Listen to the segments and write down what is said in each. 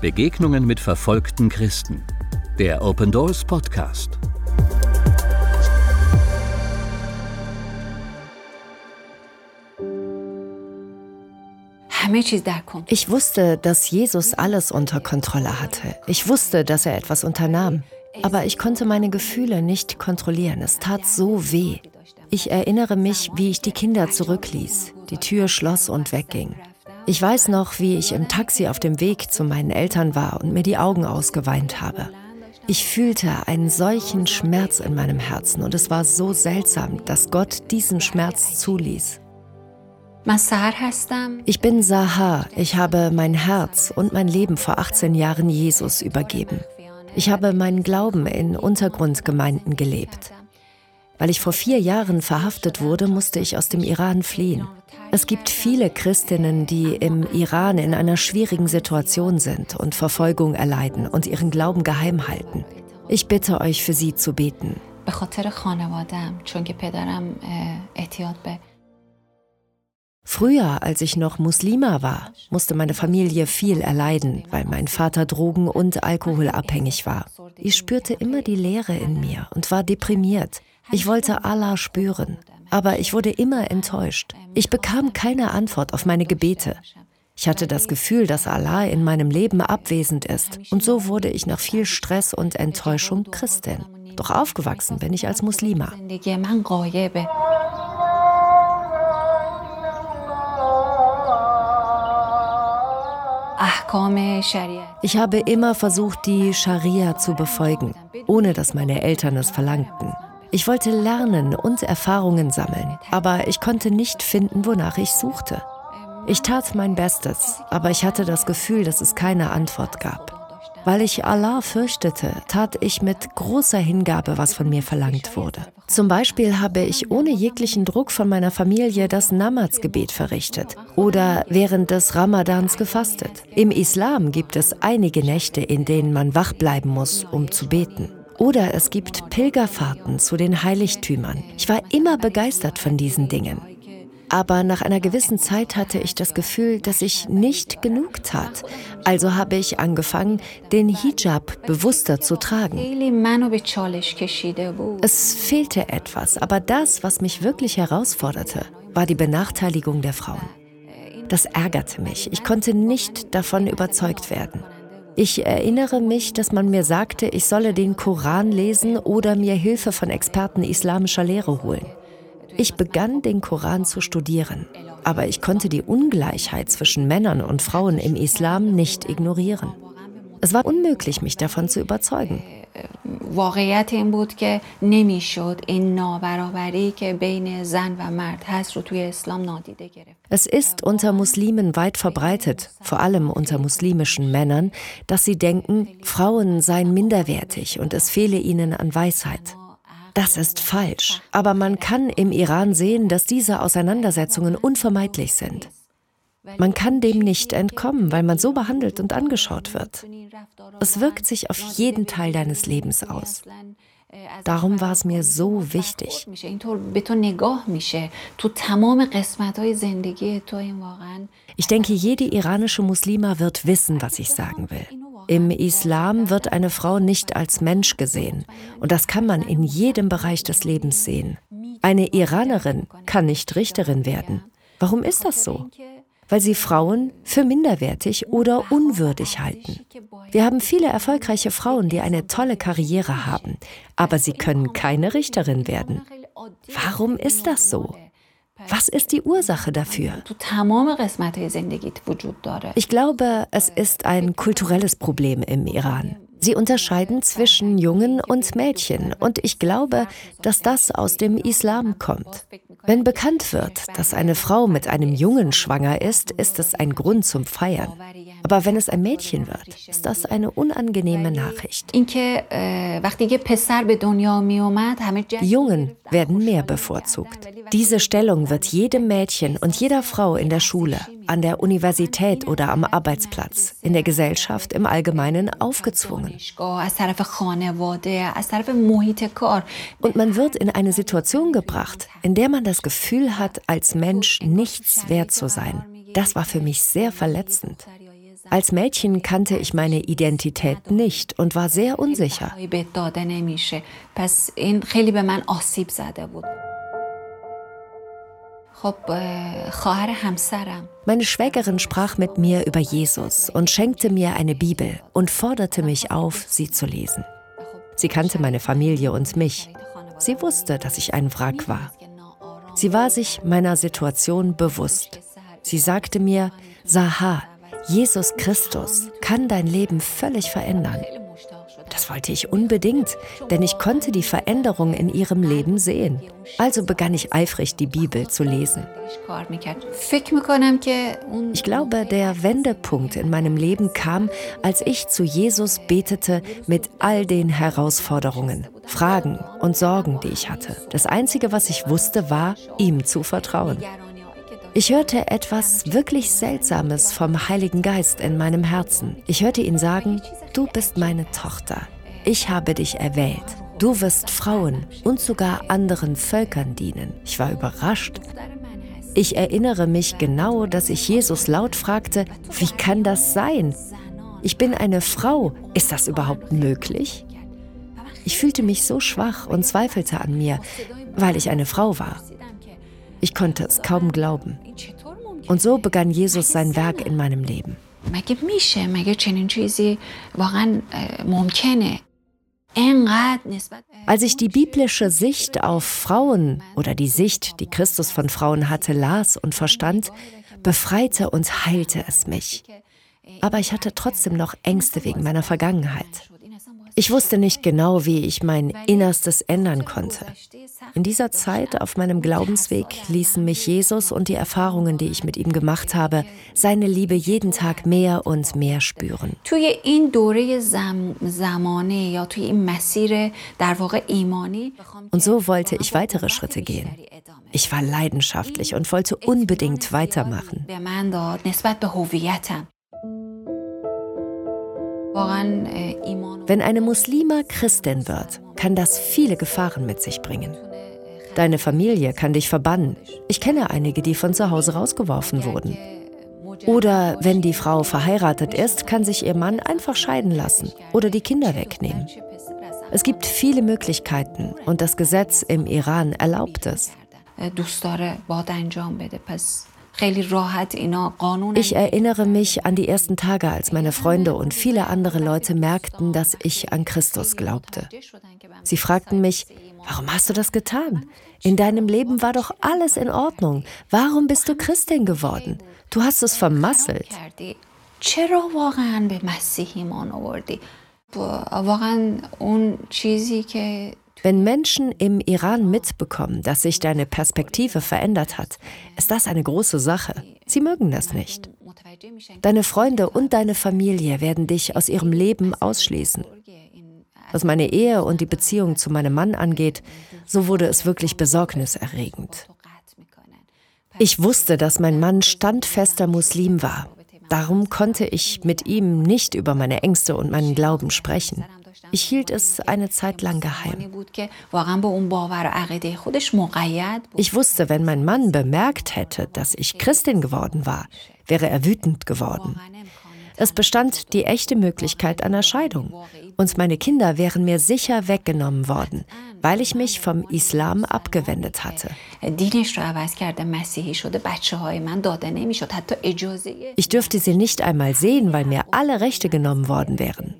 Begegnungen mit verfolgten Christen. Der Open Doors Podcast. Ich wusste, dass Jesus alles unter Kontrolle hatte. Ich wusste, dass er etwas unternahm. Aber ich konnte meine Gefühle nicht kontrollieren. Es tat so weh. Ich erinnere mich, wie ich die Kinder zurückließ, die Tür schloss und wegging. Ich weiß noch, wie ich im Taxi auf dem Weg zu meinen Eltern war und mir die Augen ausgeweint habe. Ich fühlte einen solchen Schmerz in meinem Herzen und es war so seltsam, dass Gott diesen Schmerz zuließ. Ich bin Sahar. Ich habe mein Herz und mein Leben vor 18 Jahren Jesus übergeben. Ich habe meinen Glauben in Untergrundgemeinden gelebt. Weil ich vor 4 Jahren verhaftet wurde, musste ich aus dem Iran fliehen. Es gibt viele Christinnen, die im Iran in einer schwierigen Situation sind und Verfolgung erleiden und ihren Glauben geheim halten. Ich bitte euch, für sie zu beten. Früher, als ich noch Muslima war, musste meine Familie viel erleiden, weil mein Vater drogen- und alkoholabhängig war. Ich spürte immer die Leere in mir und war deprimiert. Ich wollte Allah spüren, aber ich wurde immer enttäuscht. Ich bekam keine Antwort auf meine Gebete. Ich hatte das Gefühl, dass Allah in meinem Leben abwesend ist. Und so wurde ich nach viel Stress und Enttäuschung Christin. Doch aufgewachsen bin ich als Muslima. Ich habe immer versucht, die Scharia zu befolgen, ohne dass meine Eltern es verlangten. Ich wollte lernen und Erfahrungen sammeln, aber ich konnte nicht finden, wonach ich suchte. Ich tat mein Bestes, aber ich hatte das Gefühl, dass es keine Antwort gab. Weil ich Allah fürchtete, tat ich mit großer Hingabe, was von mir verlangt wurde. Zum Beispiel habe ich ohne jeglichen Druck von meiner Familie das Namazgebet verrichtet oder während des Ramadans gefastet. Im Islam gibt es einige Nächte, in denen man wach bleiben muss, um zu beten. Oder es gibt Pilgerfahrten zu den Heiligtümern. Ich war immer begeistert von diesen Dingen. Aber nach einer gewissen Zeit hatte ich das Gefühl, dass ich nicht genug tat. Also habe ich angefangen, den Hijab bewusster zu tragen. Es fehlte etwas, aber das, was mich wirklich herausforderte, war die Benachteiligung der Frauen. Das ärgerte mich. Ich konnte nicht davon überzeugt werden. Ich erinnere mich, dass man mir sagte, ich solle den Koran lesen oder mir Hilfe von Experten islamischer Lehre holen. Ich begann, den Koran zu studieren, aber ich konnte die Ungleichheit zwischen Männern und Frauen im Islam nicht ignorieren. Es war unmöglich, mich davon zu überzeugen. Es ist unter Muslimen weit verbreitet, vor allem unter muslimischen Männern, dass sie denken, Frauen seien minderwertig und es fehle ihnen an Weisheit. Das ist falsch, aber man kann im Iran sehen, dass diese Auseinandersetzungen unvermeidlich sind. Man kann dem nicht entkommen, weil man so behandelt und angeschaut wird. Es wirkt sich auf jeden Teil deines Lebens aus. Darum war es mir so wichtig. Ich denke, jede iranische Muslima wird wissen, was ich sagen will. Im Islam wird eine Frau nicht als Mensch gesehen. Und das kann man in jedem Bereich des Lebens sehen. Eine Iranerin kann nicht Richterin werden. Warum ist das so? Weil sie Frauen für minderwertig oder unwürdig halten. Wir haben viele erfolgreiche Frauen, die eine tolle Karriere haben, aber sie können keine Richterin werden. Warum ist das so? Was ist die Ursache dafür? Ich glaube, es ist ein kulturelles Problem im Iran. Sie unterscheiden zwischen Jungen und Mädchen und ich glaube, dass das aus dem Islam kommt. Wenn bekannt wird, dass eine Frau mit einem Jungen schwanger ist, ist es ein Grund zum Feiern. Aber wenn es ein Mädchen wird, ist das eine unangenehme Nachricht. Die Jungen werden mehr bevorzugt. Diese Stellung wird jedem Mädchen und jeder Frau in der Schule, an der Universität oder am Arbeitsplatz, in der Gesellschaft im Allgemeinen aufgezwungen. Und man wird in eine Situation gebracht, in der man das Gefühl hat, als Mensch nichts wert zu sein. Das war für mich sehr verletzend. Als Mädchen kannte ich meine Identität nicht und war sehr unsicher. Meine Schwägerin sprach mit mir über Jesus und schenkte mir eine Bibel und forderte mich auf, sie zu lesen. Sie kannte meine Familie und mich. Sie wusste, dass ich ein Wrack war. Sie war sich meiner Situation bewusst. Sie sagte mir, Sahar, Jesus Christus kann dein Leben völlig verändern. Das wollte ich unbedingt, denn ich konnte die Veränderung in ihrem Leben sehen. Also begann ich eifrig, die Bibel zu lesen. Ich glaube, der Wendepunkt in meinem Leben kam, als ich zu Jesus betete mit all den Herausforderungen, Fragen und Sorgen, die ich hatte. Das Einzige, was ich wusste, war, ihm zu vertrauen. Ich hörte etwas wirklich Seltsames vom Heiligen Geist in meinem Herzen. Ich hörte ihn sagen, du bist meine Tochter. Ich habe dich erwählt. Du wirst Frauen und sogar anderen Völkern dienen. Ich war überrascht. Ich erinnere mich genau, dass ich Jesus laut fragte, wie kann das sein? Ich bin eine Frau. Ist das überhaupt möglich? Ich fühlte mich so schwach und zweifelte an mir, weil ich eine Frau war. Ich konnte es kaum glauben. Und so begann Jesus sein Werk in meinem Leben. Als ich die biblische Sicht auf Frauen oder die Sicht, die Christus von Frauen hatte, las und verstand, befreite und heilte es mich. Aber ich hatte trotzdem noch Ängste wegen meiner Vergangenheit. Ich wusste nicht genau, wie ich mein Innerstes ändern konnte. In dieser Zeit auf meinem Glaubensweg ließen mich Jesus und die Erfahrungen, die ich mit ihm gemacht habe, seine Liebe jeden Tag mehr und mehr spüren. Und so wollte ich weitere Schritte gehen. Ich war leidenschaftlich und wollte unbedingt weitermachen. Wenn eine Muslima Christin wird, kann das viele Gefahren mit sich bringen. Deine Familie kann dich verbannen. Ich kenne einige, die von zu Hause rausgeworfen wurden. Oder wenn die Frau verheiratet ist, kann sich ihr Mann einfach scheiden lassen oder die Kinder wegnehmen. Es gibt viele Möglichkeiten und das Gesetz im Iran erlaubt es. Ich erinnere mich an die ersten Tage, als meine Freunde und viele andere Leute merkten, dass ich an Christus glaubte. Sie fragten mich, warum hast du das getan? In deinem Leben war doch alles in Ordnung. Warum bist du Christin geworden? Du hast es vermasselt. Wenn Menschen im Iran mitbekommen, dass sich deine Perspektive verändert hat, ist das eine große Sache. Sie mögen das nicht. Deine Freunde und deine Familie werden dich aus ihrem Leben ausschließen. Was meine Ehe und die Beziehung zu meinem Mann angeht, so wurde es wirklich besorgniserregend. Ich wusste, dass mein Mann standfester Muslim war. Darum konnte ich mit ihm nicht über meine Ängste und meinen Glauben sprechen. Ich hielt es eine Zeit lang geheim. Ich wusste, wenn mein Mann bemerkt hätte, dass ich Christin geworden war, wäre er wütend geworden. Es bestand die echte Möglichkeit einer Scheidung. Und meine Kinder wären mir sicher weggenommen worden, weil ich mich vom Islam abgewendet hatte. Ich dürfte sie nicht einmal sehen, weil mir alle Rechte genommen worden wären.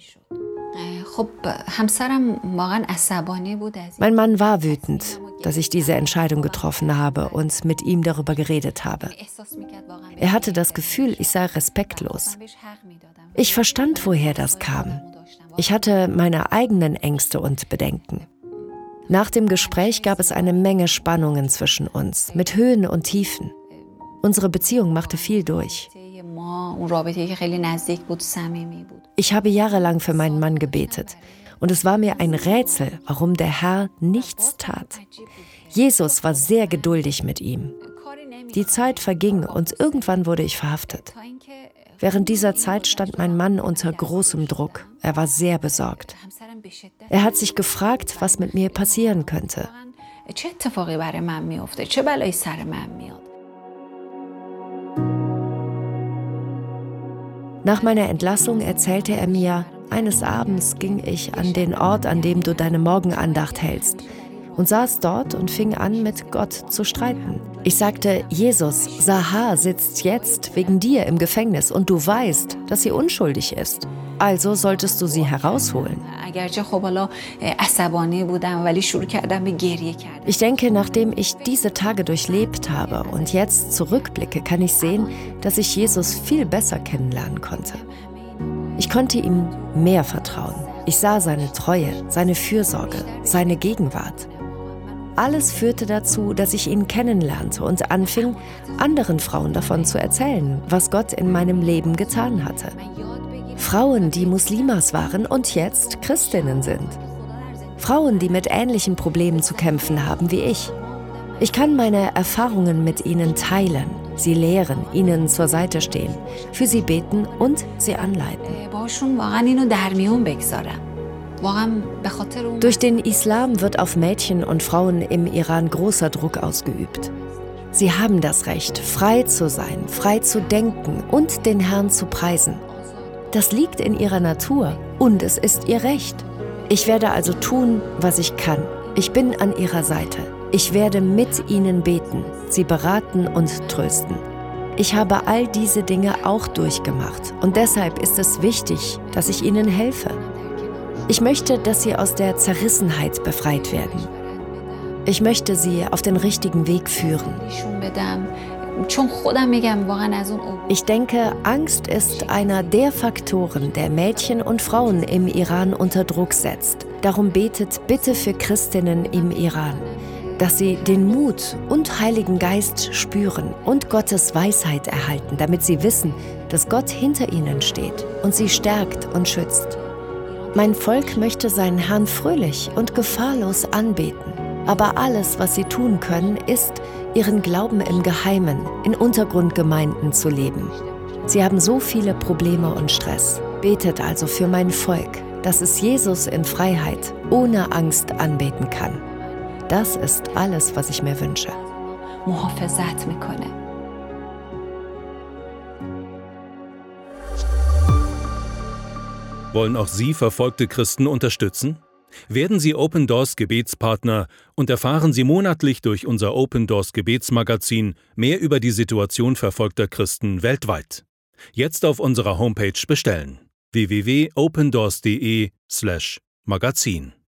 Mein Mann war wütend, dass ich diese Entscheidung getroffen habe und mit ihm darüber geredet habe. Er hatte das Gefühl, ich sei respektlos. Ich verstand, woher das kam. Ich hatte meine eigenen Ängste und Bedenken. Nach dem Gespräch gab es eine Menge Spannungen zwischen uns, mit Höhen und Tiefen. Unsere Beziehung machte viel durch. Ich habe jahrelang für meinen Mann gebetet und es war mir ein Rätsel, warum der Herr nichts tat. Jesus war sehr geduldig mit ihm. Die Zeit verging und irgendwann wurde ich verhaftet. Während dieser Zeit stand mein Mann unter großem Druck. Er war sehr besorgt. Er hat sich gefragt, was mit mir passieren könnte. Nach meiner Entlassung erzählte er mir, eines Abends ging ich an den Ort, an dem du deine Morgenandacht hältst, und saß dort und fing an, mit Gott zu streiten. Ich sagte, Jesus, Sahar sitzt jetzt wegen dir im Gefängnis und du weißt, dass sie unschuldig ist. Also solltest du sie herausholen. Ich denke, nachdem ich diese Tage durchlebt habe und jetzt zurückblicke, kann ich sehen, dass ich Jesus viel besser kennenlernen konnte. Ich konnte ihm mehr vertrauen. Ich sah seine Treue, seine Fürsorge, seine Gegenwart. Alles führte dazu, dass ich ihn kennenlernte und anfing, anderen Frauen davon zu erzählen, was Gott in meinem Leben getan hatte. Frauen, die Muslimas waren und jetzt Christinnen sind. Frauen, die mit ähnlichen Problemen zu kämpfen haben wie ich. Ich kann meine Erfahrungen mit ihnen teilen, sie lehren, ihnen zur Seite stehen, für sie beten und sie anleiten. Durch den Islam wird auf Mädchen und Frauen im Iran großer Druck ausgeübt. Sie haben das Recht, frei zu sein, frei zu denken und den Herrn zu preisen. Das liegt in ihrer Natur und es ist ihr Recht. Ich werde also tun, was ich kann. Ich bin an ihrer Seite. Ich werde mit ihnen beten, sie beraten und trösten. Ich habe all diese Dinge auch durchgemacht und deshalb ist es wichtig, dass ich ihnen helfe. Ich möchte, dass sie aus der Zerrissenheit befreit werden. Ich möchte sie auf den richtigen Weg führen. Ich denke, Angst ist einer der Faktoren, der Mädchen und Frauen im Iran unter Druck setzt. Darum betet bitte für Christinnen im Iran, dass sie den Mut und Heiligen Geist spüren und Gottes Weisheit erhalten, damit sie wissen, dass Gott hinter ihnen steht und sie stärkt und schützt. Mein Volk möchte seinen Herrn fröhlich und gefahrlos anbeten. Aber alles, was sie tun können, ist, ihren Glauben im Geheimen, in Untergrundgemeinden zu leben. Sie haben so viele Probleme und Stress. Betet also für mein Volk, dass es Jesus in Freiheit, ohne Angst anbeten kann. Das ist alles, was ich mir wünsche. Wollen auch Sie verfolgte Christen unterstützen? Werden Sie Open Doors Gebetspartner und erfahren Sie monatlich durch unser Open Doors Gebetsmagazin mehr über die Situation verfolgter Christen weltweit. Jetzt auf unserer Homepage bestellen: www.opendoors.de/magazin